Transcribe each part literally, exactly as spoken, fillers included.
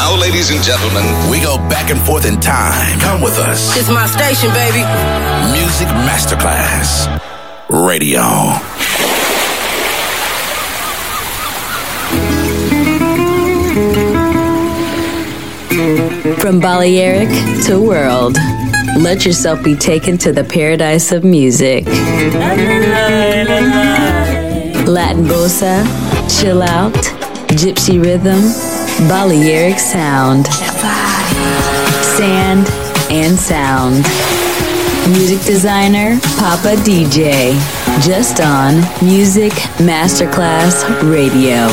now, ladies and gentlemen, we go back and forth in time. Come with us. It's my station, baby. Music Masterclass Radio. From Balearic to world, let yourself be taken to the paradise of music. Latin bossa, chill out, gypsy rhythm, Balearic sound, sand and sound. Music designer, Papa D J, just on Music Masterclass Radio.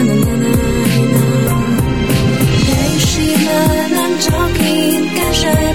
Csak én keserve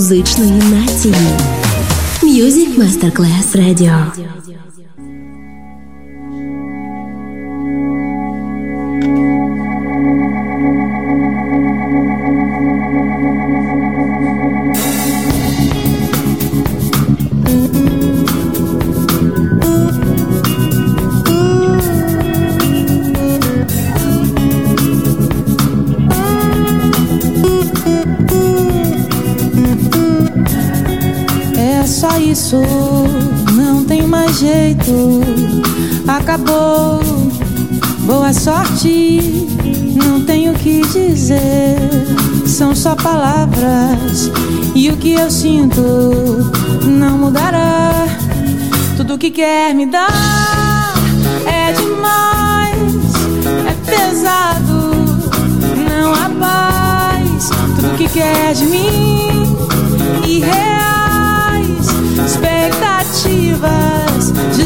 музичної нації. Music Masterclass Radio. Isso não tem mais jeito, acabou, boa sorte, não tenho o que dizer, são só palavras e o que eu sinto não mudará, tudo que quer me dar é demais, é pesado, não há paz, tudo que quer de mim, irreal. Expectativas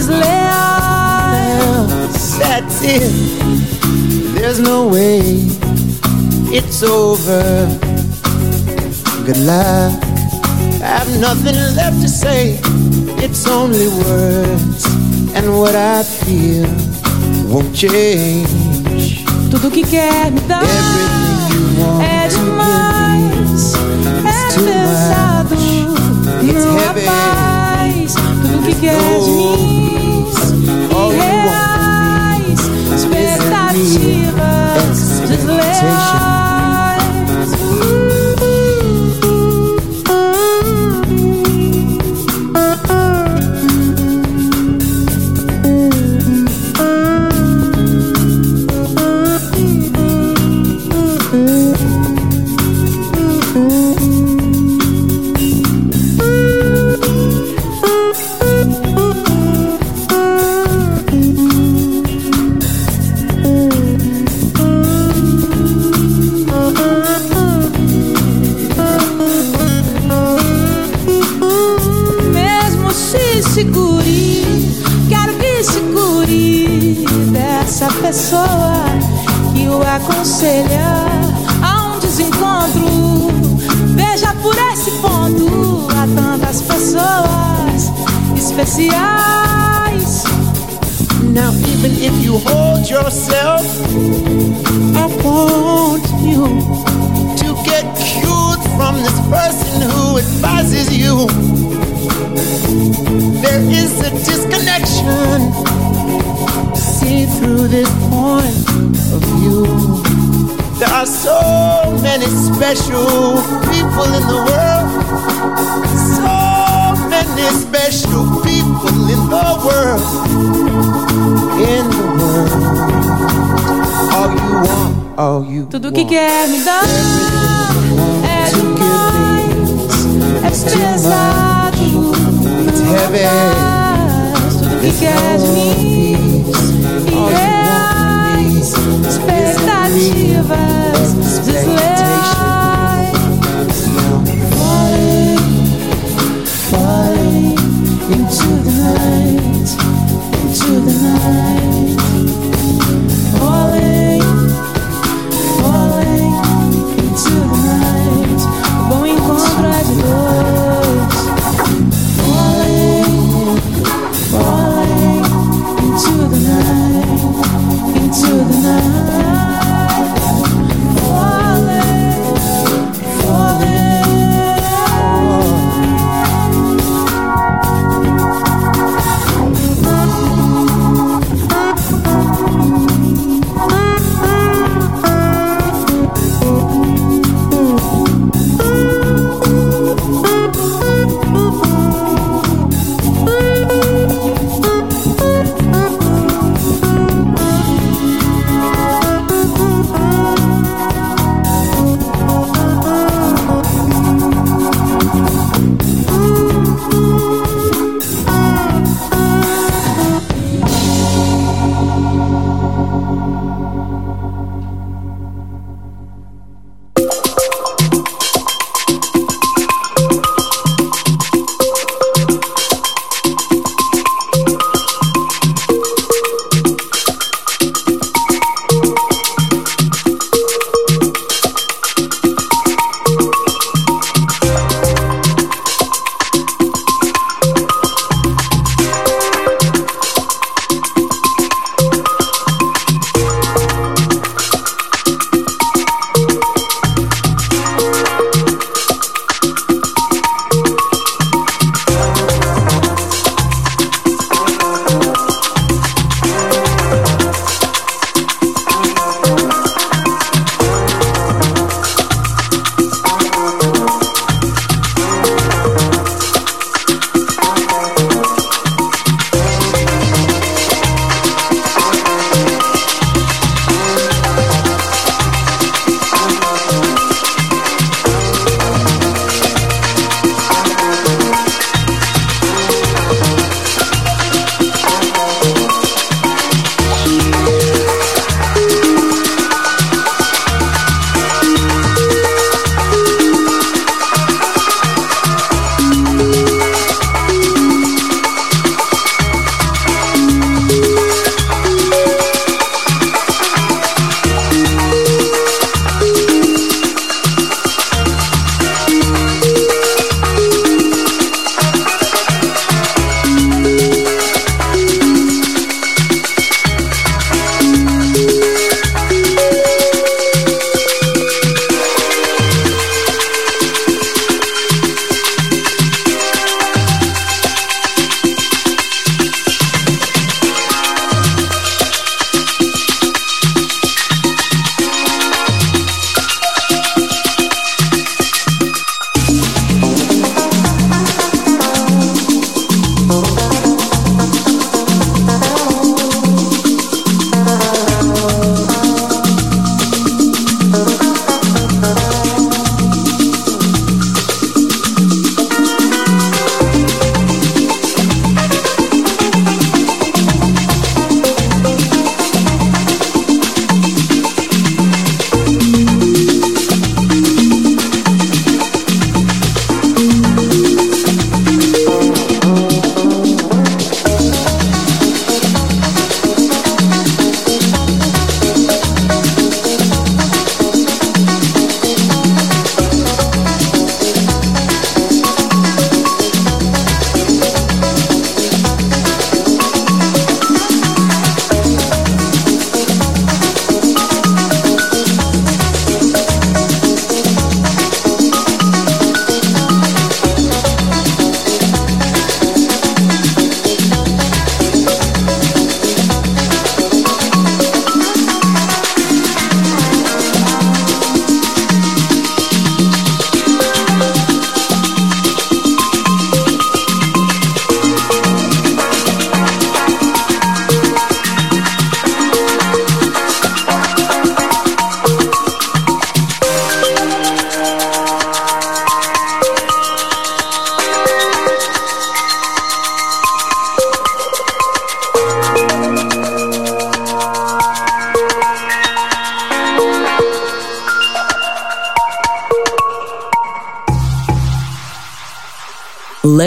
desleais. That's it. There's no way it's over. Good luck. I have nothing left to say. It's only words, and what I feel won't change. Tudo que quer me dar é demais, é pesado. It's não heavy. há paz, tudo que quer de mim, irreais, expectativas desleais. Pessoa que o aconselha a um desencontro. Veja por esse ponto, há tantas pessoas especiais. Now even if you hold yourself, I want you to get cured from this person who advises you. There is a disconnection. See through this point of view. There are so many special people in the world. So many special people in the world. In the world. All you want, all you Tudo want. que quer me dar é demais, é pesado, It's heavy. tudo que quer de mim. Irreais, expectativas desleais. Falling, falling into the night, into the night. Falling, falling into the night. O bom encontro é de dois. Falling, falling into the night, into the night. Falling, falling.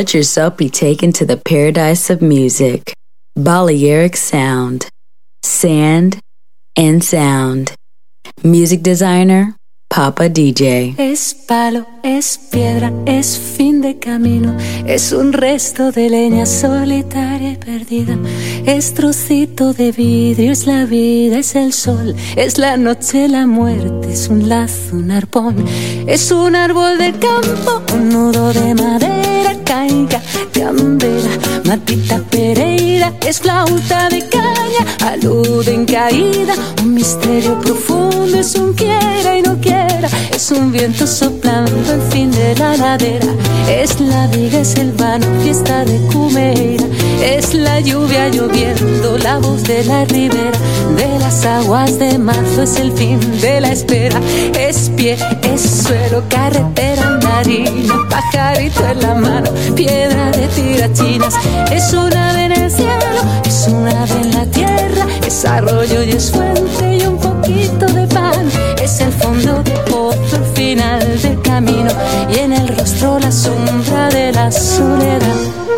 Let yourself be taken to the paradise of music. Balearic sound, sand, and sound. Music designer, Papa D J. Es palo, es piedra, es fin de camino, es un resto de leña solitaria y perdida, es trocito de vidrio, es la vida, es el sol, es la noche, la muerte, es un lazo, un arpón, es un árbol de campo, un nudo de madera, caiga, candela, matita pereira, es flauta de caña, alude en caída, un misterio profundo, es un quiera y no quiera, es un viento soplando el fin de la ladera, es la viga, es el vano, fiesta de Cumeira, es la lluvia lloviendo, la voz de la ribera, de las aguas de marzo, es el fin de la espera, es pie, es suelo, carretera, marina, pajarito en la mano, piedra de tirachinas, es un ave en el cielo, es un ave en la tierra, es arroyo y es fuente y un poquito de pan, es el fondo de pozo, el final del camino y en el rostro la sombra de la soledad.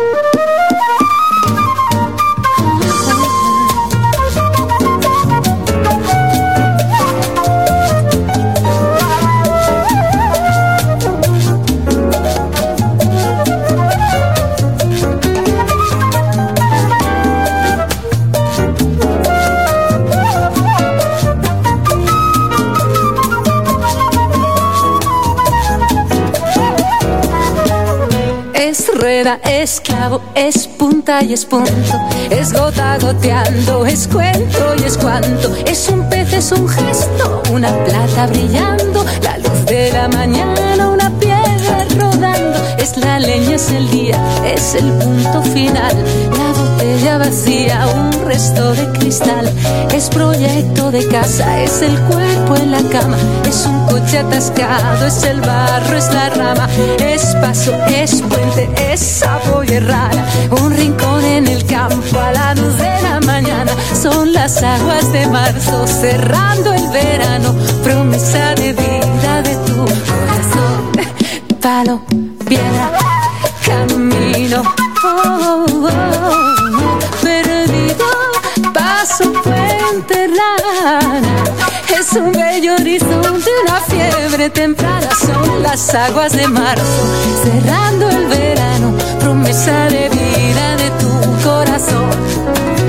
Es clavo, es punta y es punto, es gota goteando, es cuento y es cuanto, es un pez, es un gesto, una plata brillando, la luz de la mañana, una piedra rodando, es la leña, es el día, es el punto final, la botella vacía, un resto de cristal, es proyecto de casa, es el cuerpo en la cama, es un coche atascado, es el barro, es la rama, es paso, es puente, es sapo y rara, un rincón en el campo a la luz de la mañana, son las aguas de marzo cerrando el verano, promesa de vida de tu corazón, palo, piedra, camino, oh, oh, oh, perdido, paso, puente, rana, es un bello horizonte, una fiebre temprana, son las aguas de marzo cerrando el verano, promesa de vida de tu corazón.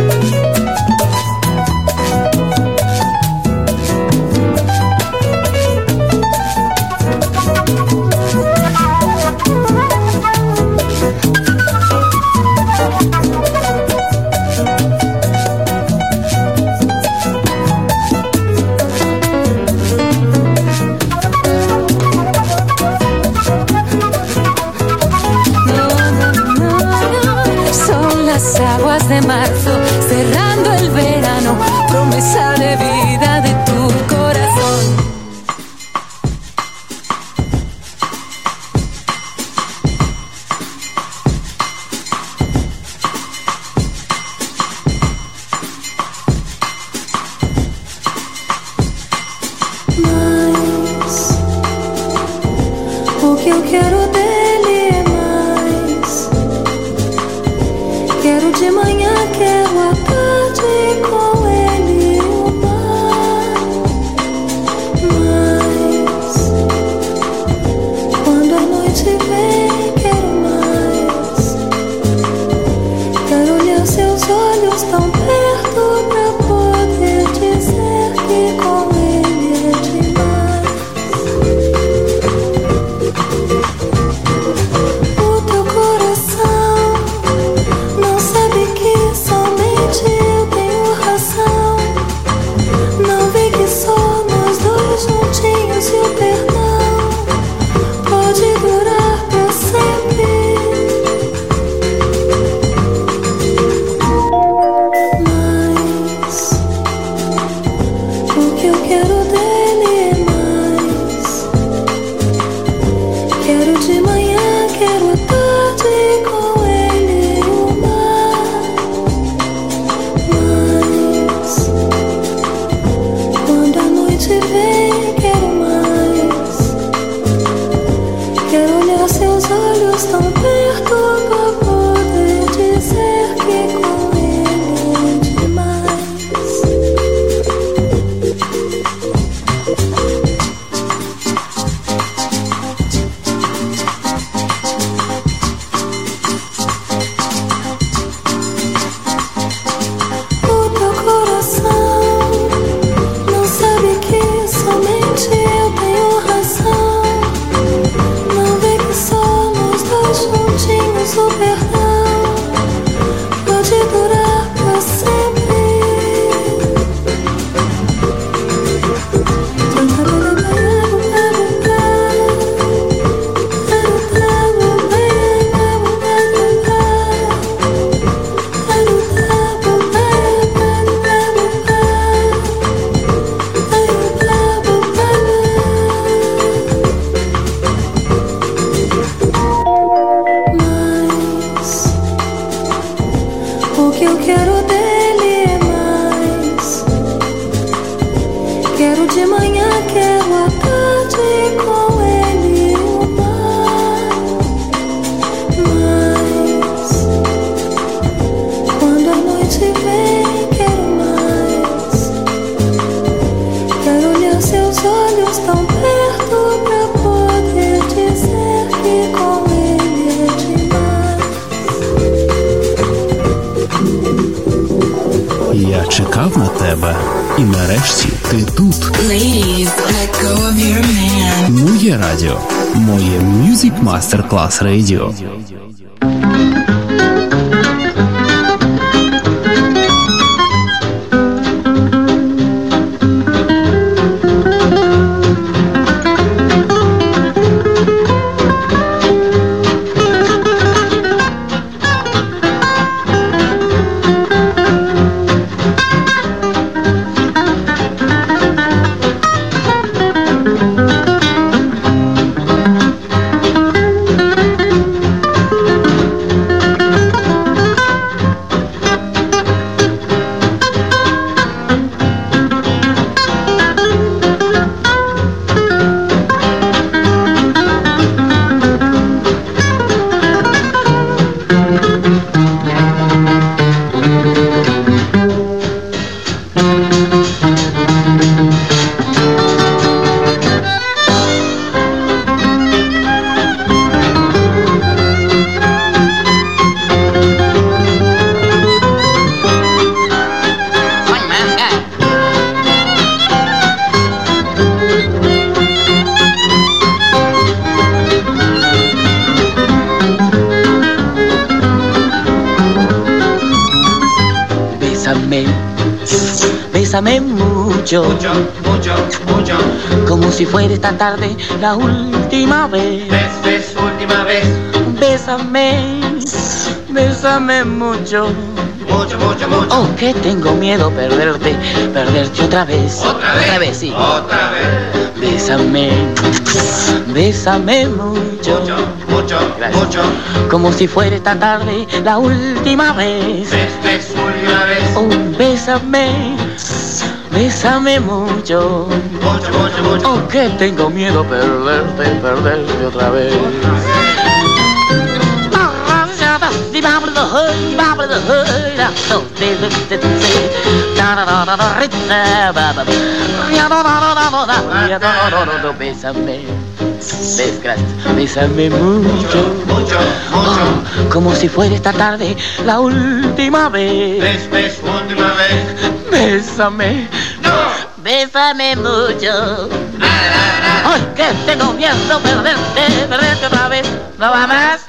De marzo, cerrando el verano, promesa de vida de tu corazón. Mas o que eu quero dele é mais. Quero de manhã, quero à tarde com ele o mar. Mas quando a noite vem, quero mais. Quero olhar seus olhos tão perto pra poder dizer que com ele é demais. O teu coração não sabe que somente eu tenho razão. que eu quero dele é mais. Quero de manhã, quero à tarde com ele o mar. Mas quando a noite vem, quero mais. Quero olhar seus olhos tão perto pra poder dizer que com ele é demais. Я чекав на тебе, і нарешті ти тут. Ladies, let go of your man. Моє радіо, моє Music Masterclass Radio. Bésame mucho, mucho, mucho, mucho, como si fuera esta tarde la última vez. Ves, ves, última vez. Bésame, bésame mucho, mucho, mucho, mucho. Oh, que tengo miedo perderte, perderte otra vez. Otra vez, otra vez, sí. Otra vez. Bésame, bésame mucho, mucho, mucho, Gracias. mucho, como si fuera esta tarde la última vez. Ves, ves, última vez. Oh, bésame, bésame mucho, mucho, mucho, mucho. Oh, que tengo miedo perderte, perderte otra vez. Bésame, ves, gracias. Bésame mucho, mucho, mucho, oh, como si fuera esta tarde la última vez. Ves, ves, última vez. Bésame, no, bésame mucho. Ay, que tengo miedo perderte, perderte otra vez. ¿No va más?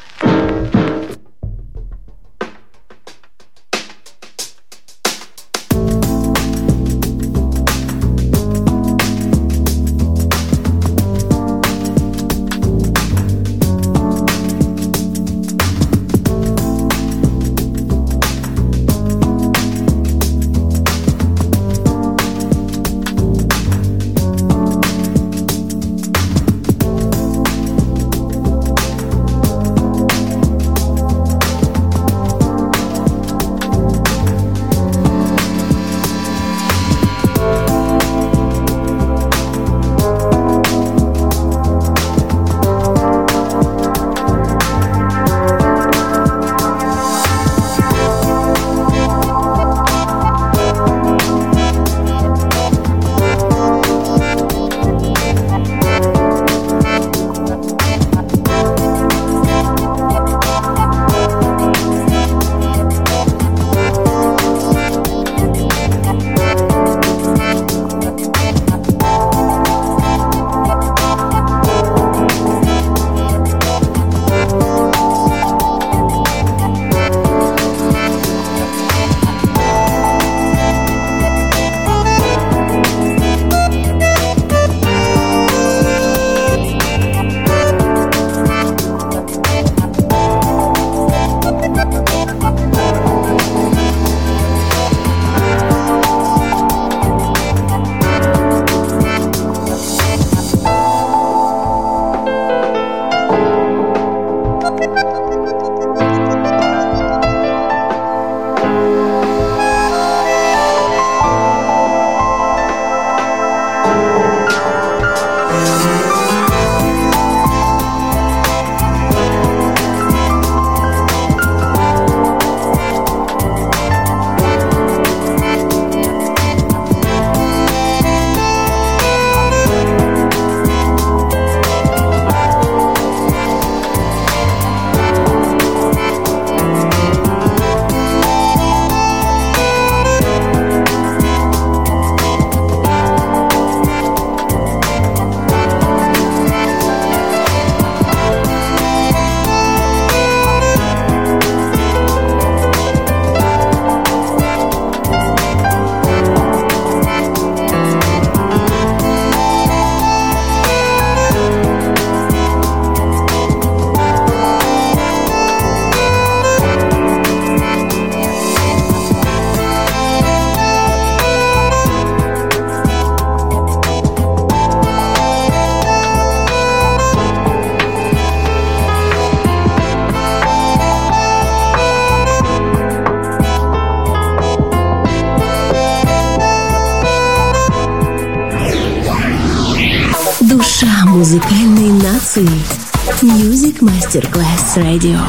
Музыкальной нации. Music Masterclass Radio.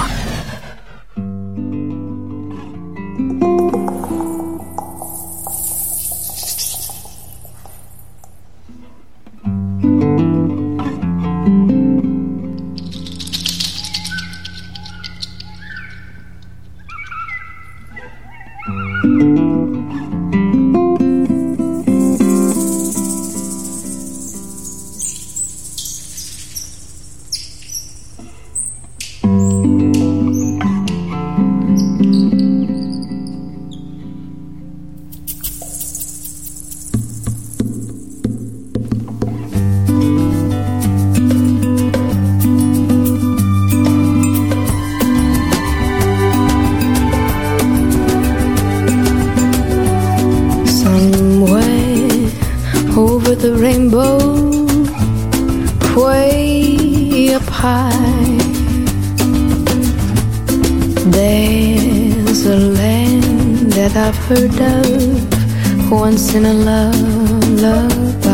Heard of once in a lullaby.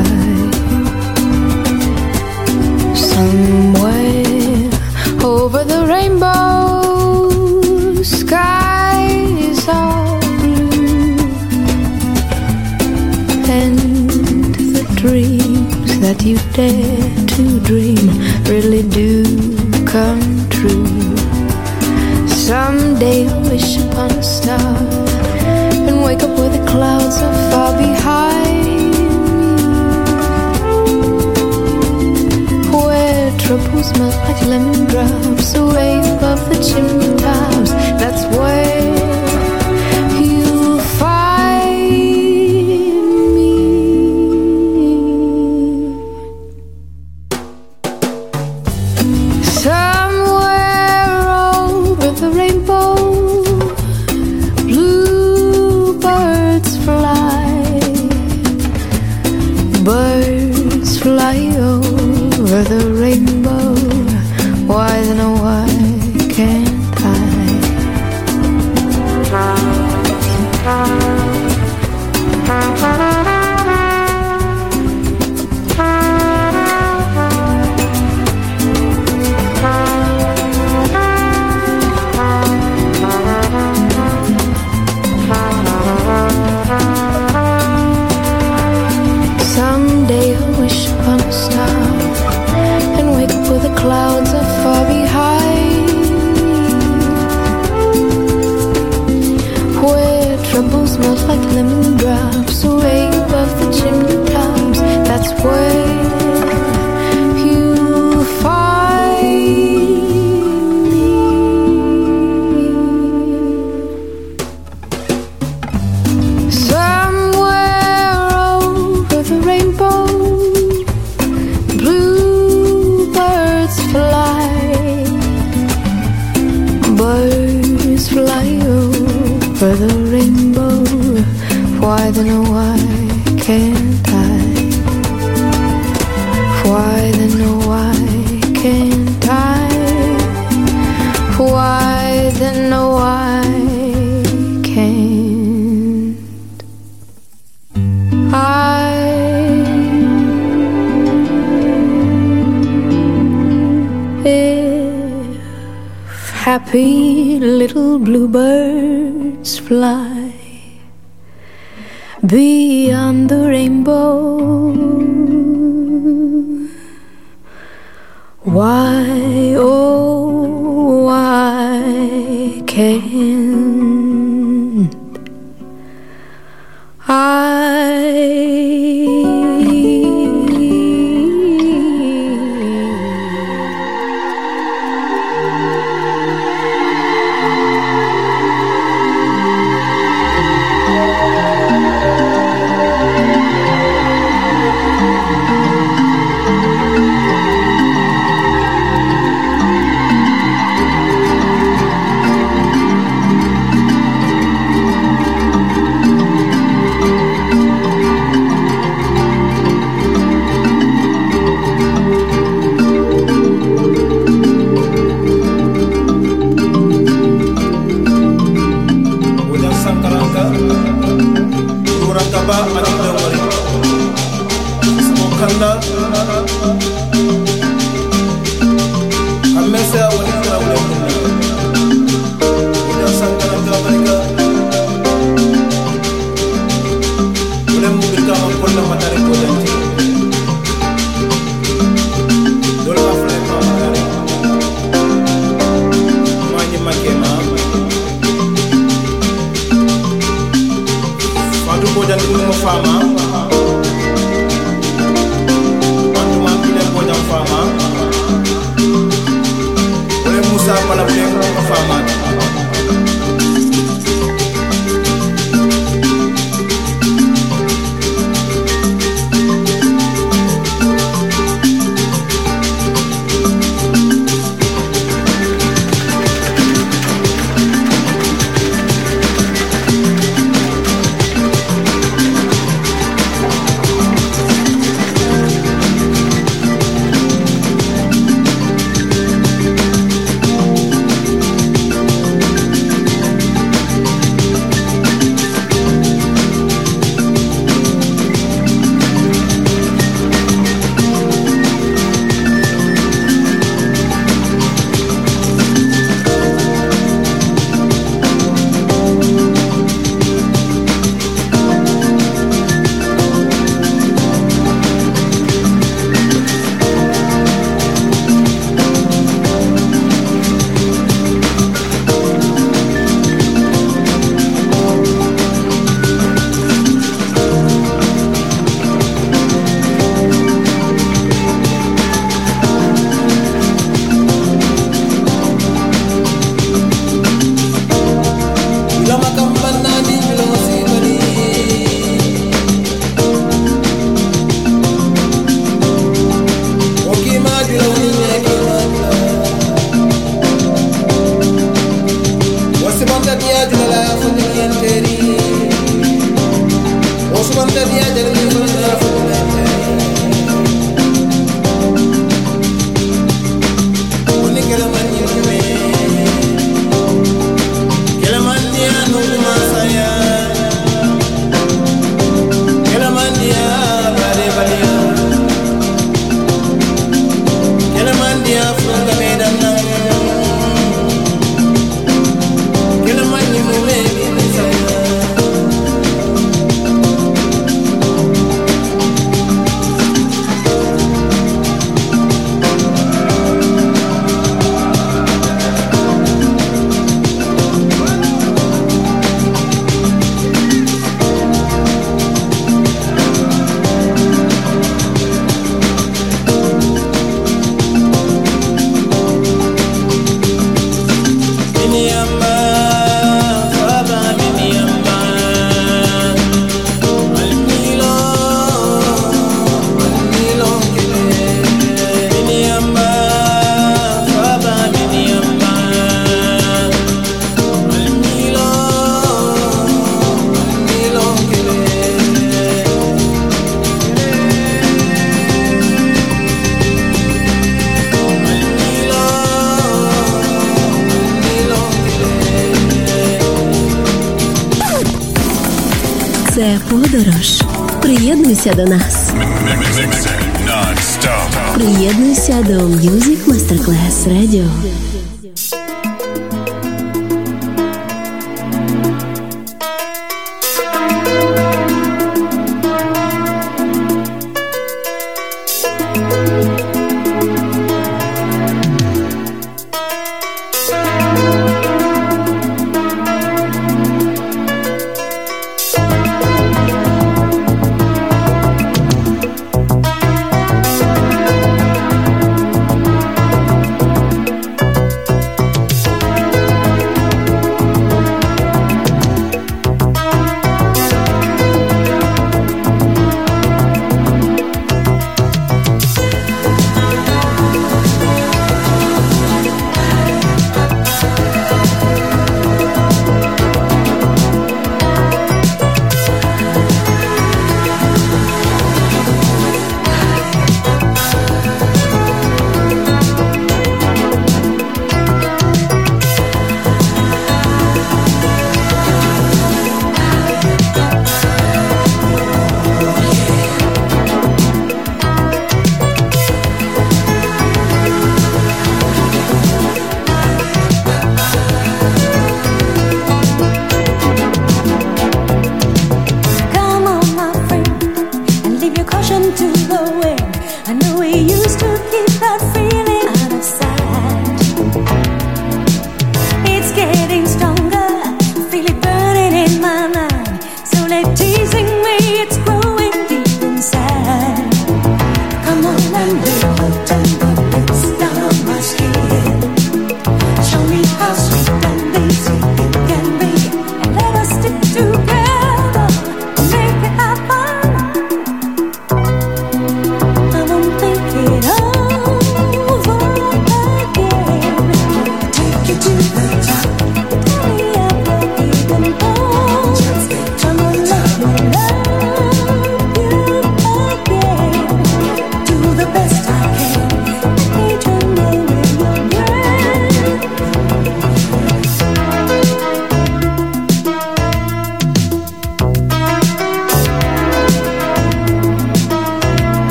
Somewhere over the rainbow, skies are blue, and the dreams that you dare to dream really do come true. Someday I'll wish upon a star and wake up where the clouds are far behind me, where troubles melt like lemon drops away above the chimney tops. That's where you'll find me. Somewhere over the rainbow, birds fly over the rainbow. Why then oh why can't I? Someday I'll wish upon a star and wake up where the clouds are far behind me, where troubles melt like lemon drops away above the chimney tops. That's where you'll find me. Somewhere over the rainbow, bluebirds fly, birds fly over the rainbow. Why then oh why can't I? Why then oh why can't I? Why then oh why can't I? If happy little bluebirds fly beyond the rainbow, why, oh, why can't I? Kanda Це подорож. Приєднуйся до нас. Приєднуйся до Music Masterclass Radio.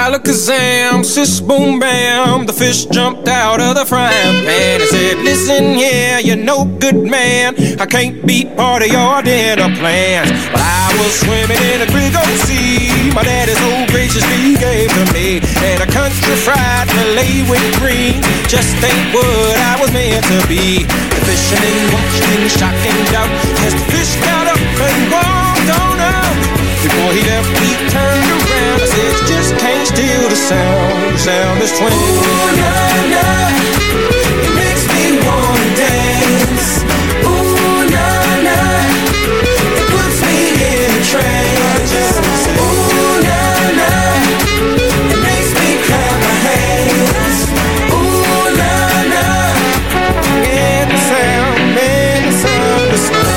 Alakazam, sis boom bam, the fish jumped out of the frying pan and said, listen here, you're no good man, I can't be part of your dinner plans. But I was swimming in a big old sea, my daddy so graciously gave to me, and a country fried fillet with green just ain't what I was meant to be. The fisherman watched in shock and doubt as the fish got up and walked on out. Before he left, he turned around and said, you just can't steal the sound. The sound is twang. Ooh, na, na, it makes me wanna dance. Ooh, na, na, it puts me in a trance. Ooh, na, na, it makes me clap my hands. Ooh, na, na, and the sound, man, the sound is swing.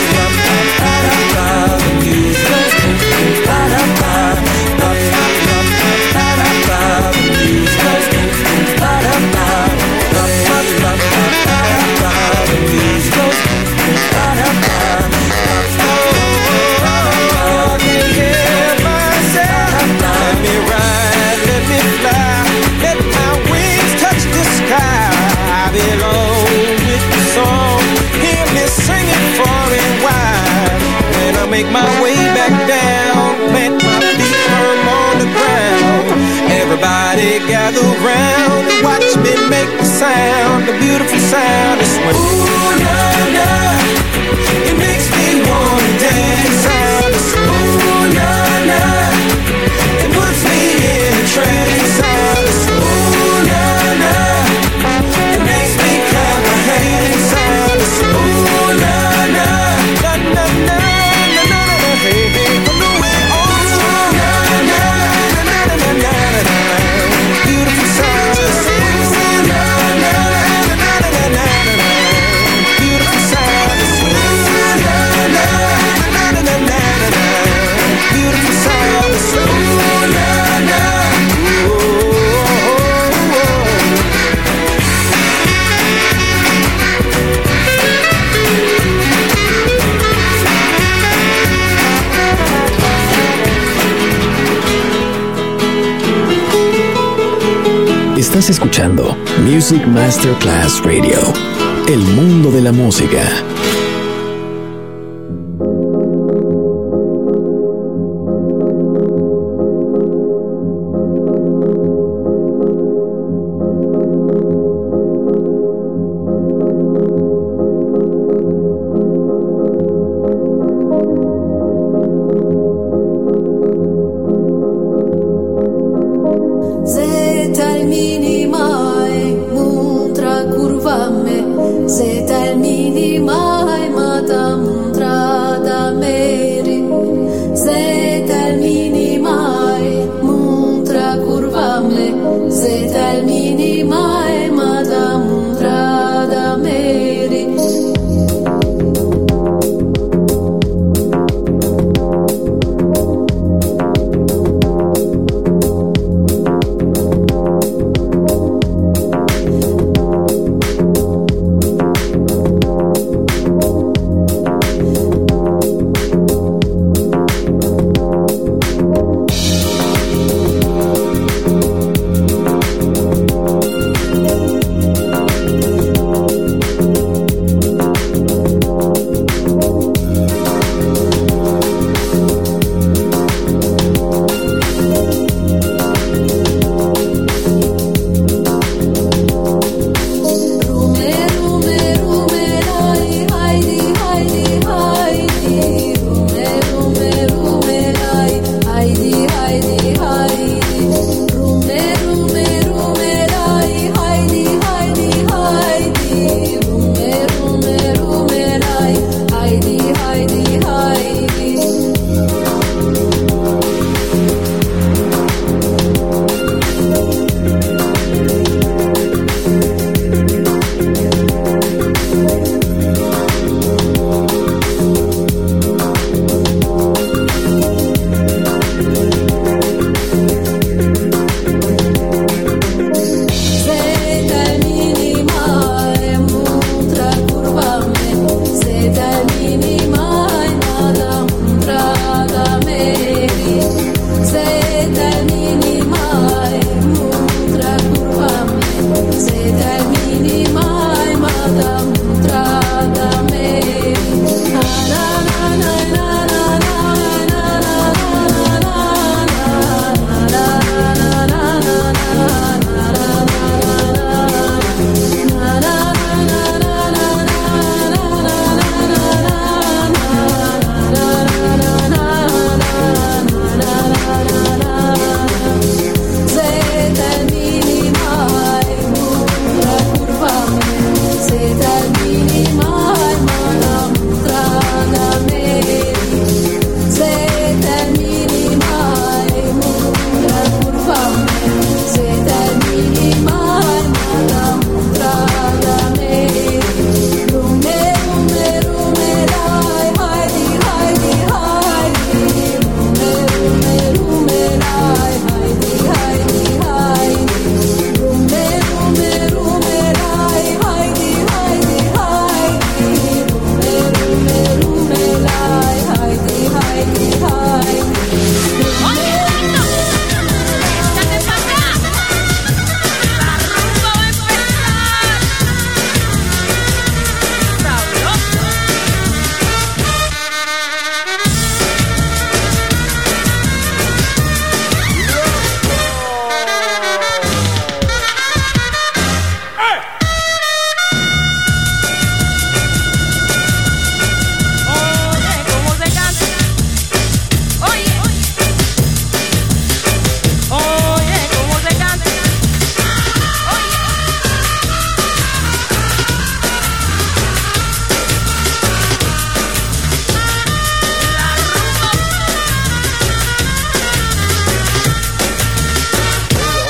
Make my way back down, plant my feet firm on the ground. Everybody gather round and watch me make the sound, the beautiful sound of swing. Ooh, na, na, it makes me wanna dance. Sound of swing. Ooh, na, na, it puts me in a trance. Sound of swing. Ooh, na, na, it makes me clap my hands. Sound of swing. Ooh, na, na, na, na, na. Hey, hey, from the way on strong. Na, na, na, na, na, na, na, na. Beautiful sound. Na, na, na, na, na, na, na, na. Beautiful sound. Na, na, na, na, na, na, na, na. Beautiful sound. Na, na, oh, oh, oh. Estás escuchando Music Masterclass Radio, el mundo de la música.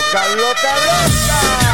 Loca, loca, loca.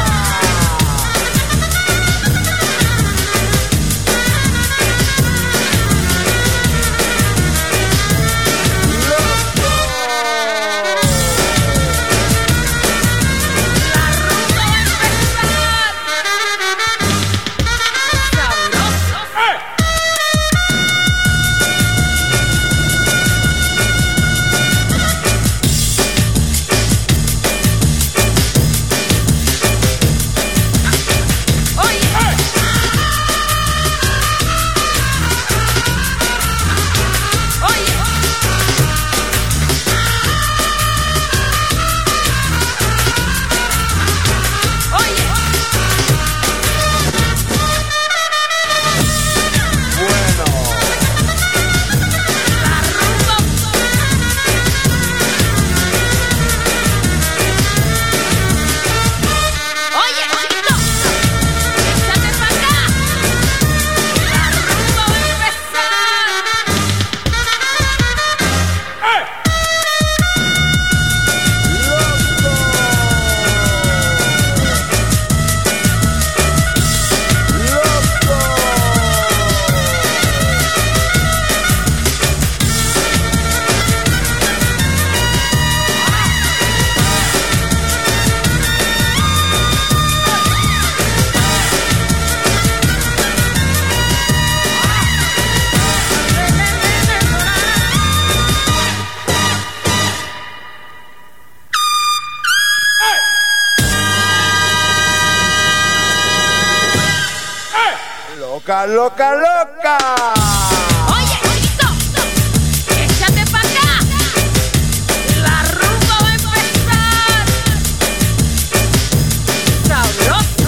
Loca, loca, loca. Oye, chiquito, échate pa' acá. La rumba va a empezar. Sabroso.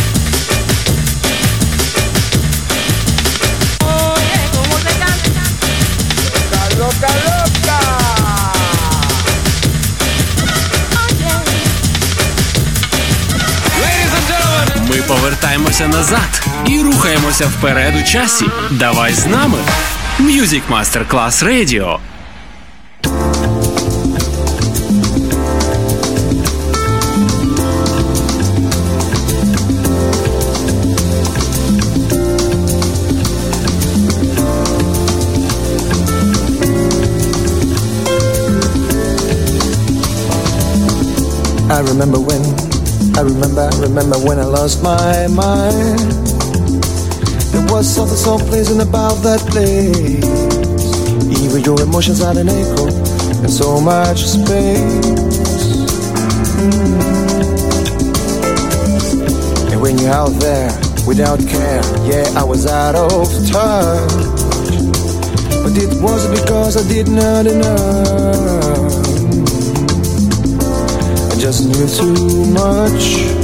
Oye, cómo te canta. Loca, loca, loca. Ми повертаємося назад і рухаємося вперед у часі. Давай з нами. Music Master Class Radio. I remember when I remember, I remember when I lost my mind. There was something so pleasing about that place. Even your emotions had an echo and so much space. Mm. And when you're out there without care, yeah, I was out of touch. But it wasn't because I did not enough. Just knew too much.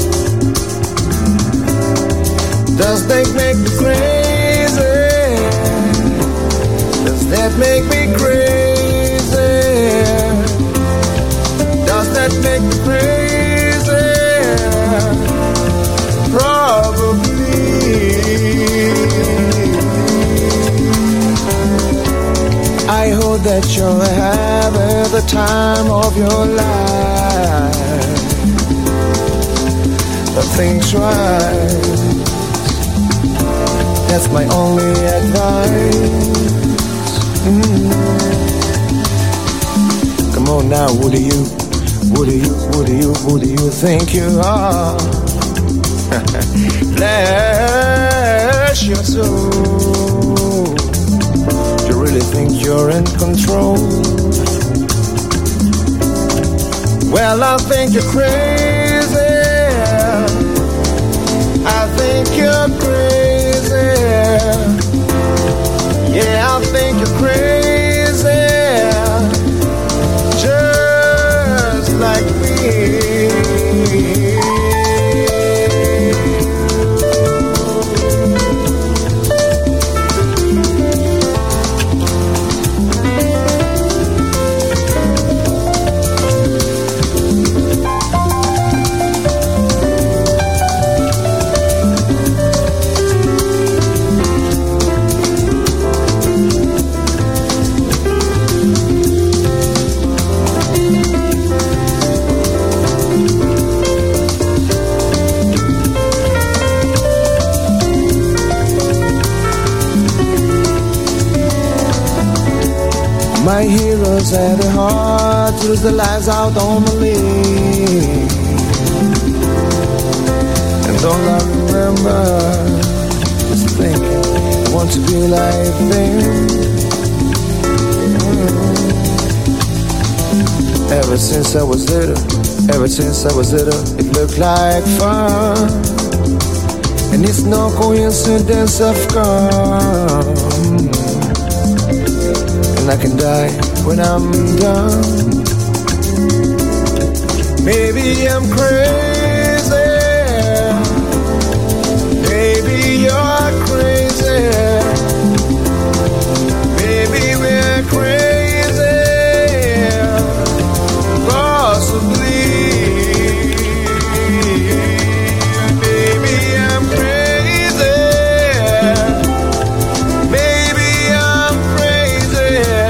Does that make me crazy? Does that make me crazy? Does that make me crazy? Probably. I hope that you're having the time of your life. But things right. That's my only advice. Mm. Come on now, who do you, who do you, who do you, who do you think you are? Bless your soul. Do you really think you're in control? Well, I think you're crazy. I think you're crazy. Yeah, I think you're crazy. Just like me. my heroes had a heart to lose their lives out on the lake. And all I remember is thinking I want to be like them. Ever since I was little, ever since I was little, it looked like fun. And it's no coincidence I've come. And I can die when I'm done. Maybe I'm crazy. Maybe you're crazy. Maybe we're crazy. Possibly. Maybe I'm crazy. Maybe I'm crazy.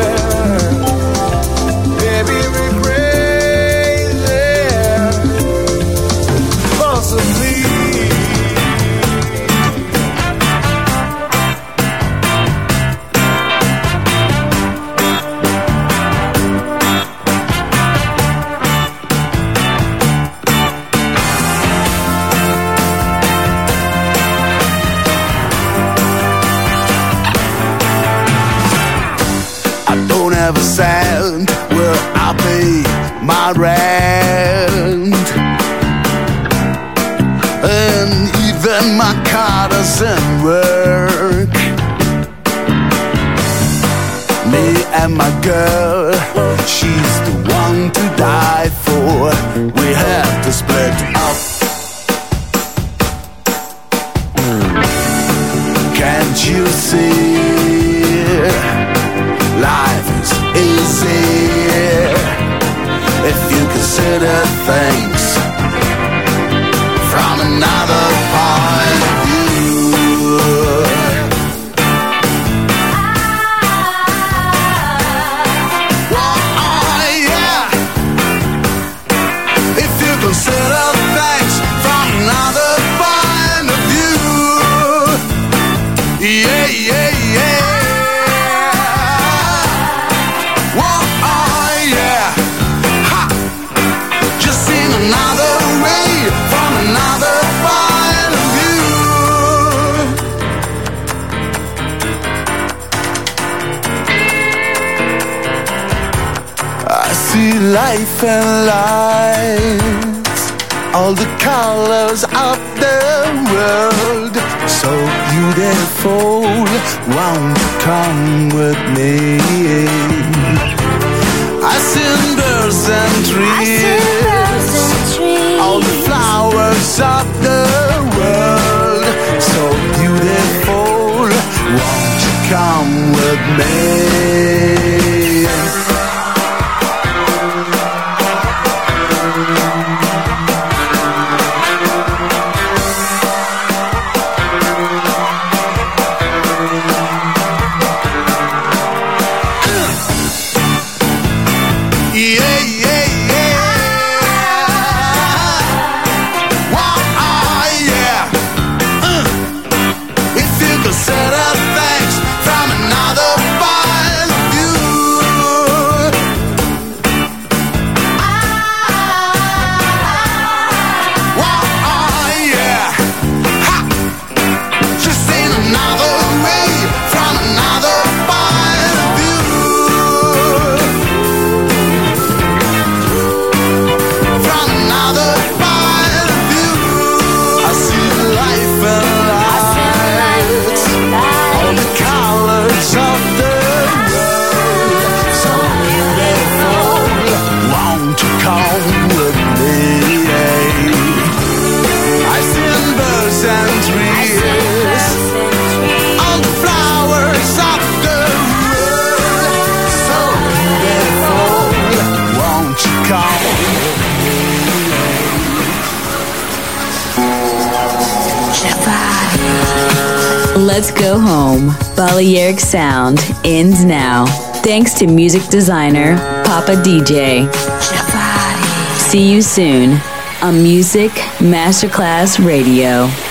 Maybe we're crazy. Possibly. Have a sound where I pay my rent, and even my car doesn't work. Me and my girl, she's the one to die for. We have to split up. Can't you see? Life is easy if you consider things from another point of view. Oh, yeah. If you consider things from another point of view. Yeah, yeah, yeah. Another way, from another point of view. I see life and lights, all the colors of the world, so beautiful. Won't you come with me? I see birds and trees, all the flowers of the world, so beautiful. Won't you come with me? Yeah, yeah, yeah. Wow, oh, yeah. Uh. If you consider things from another point of view. Wow, oh, yeah. Ha. Just in another way, from another point of view. Let's Go Home. Balearic Sound ends now. Thanks to music designer Papa D J. See you soon on Music Masterclass Radio.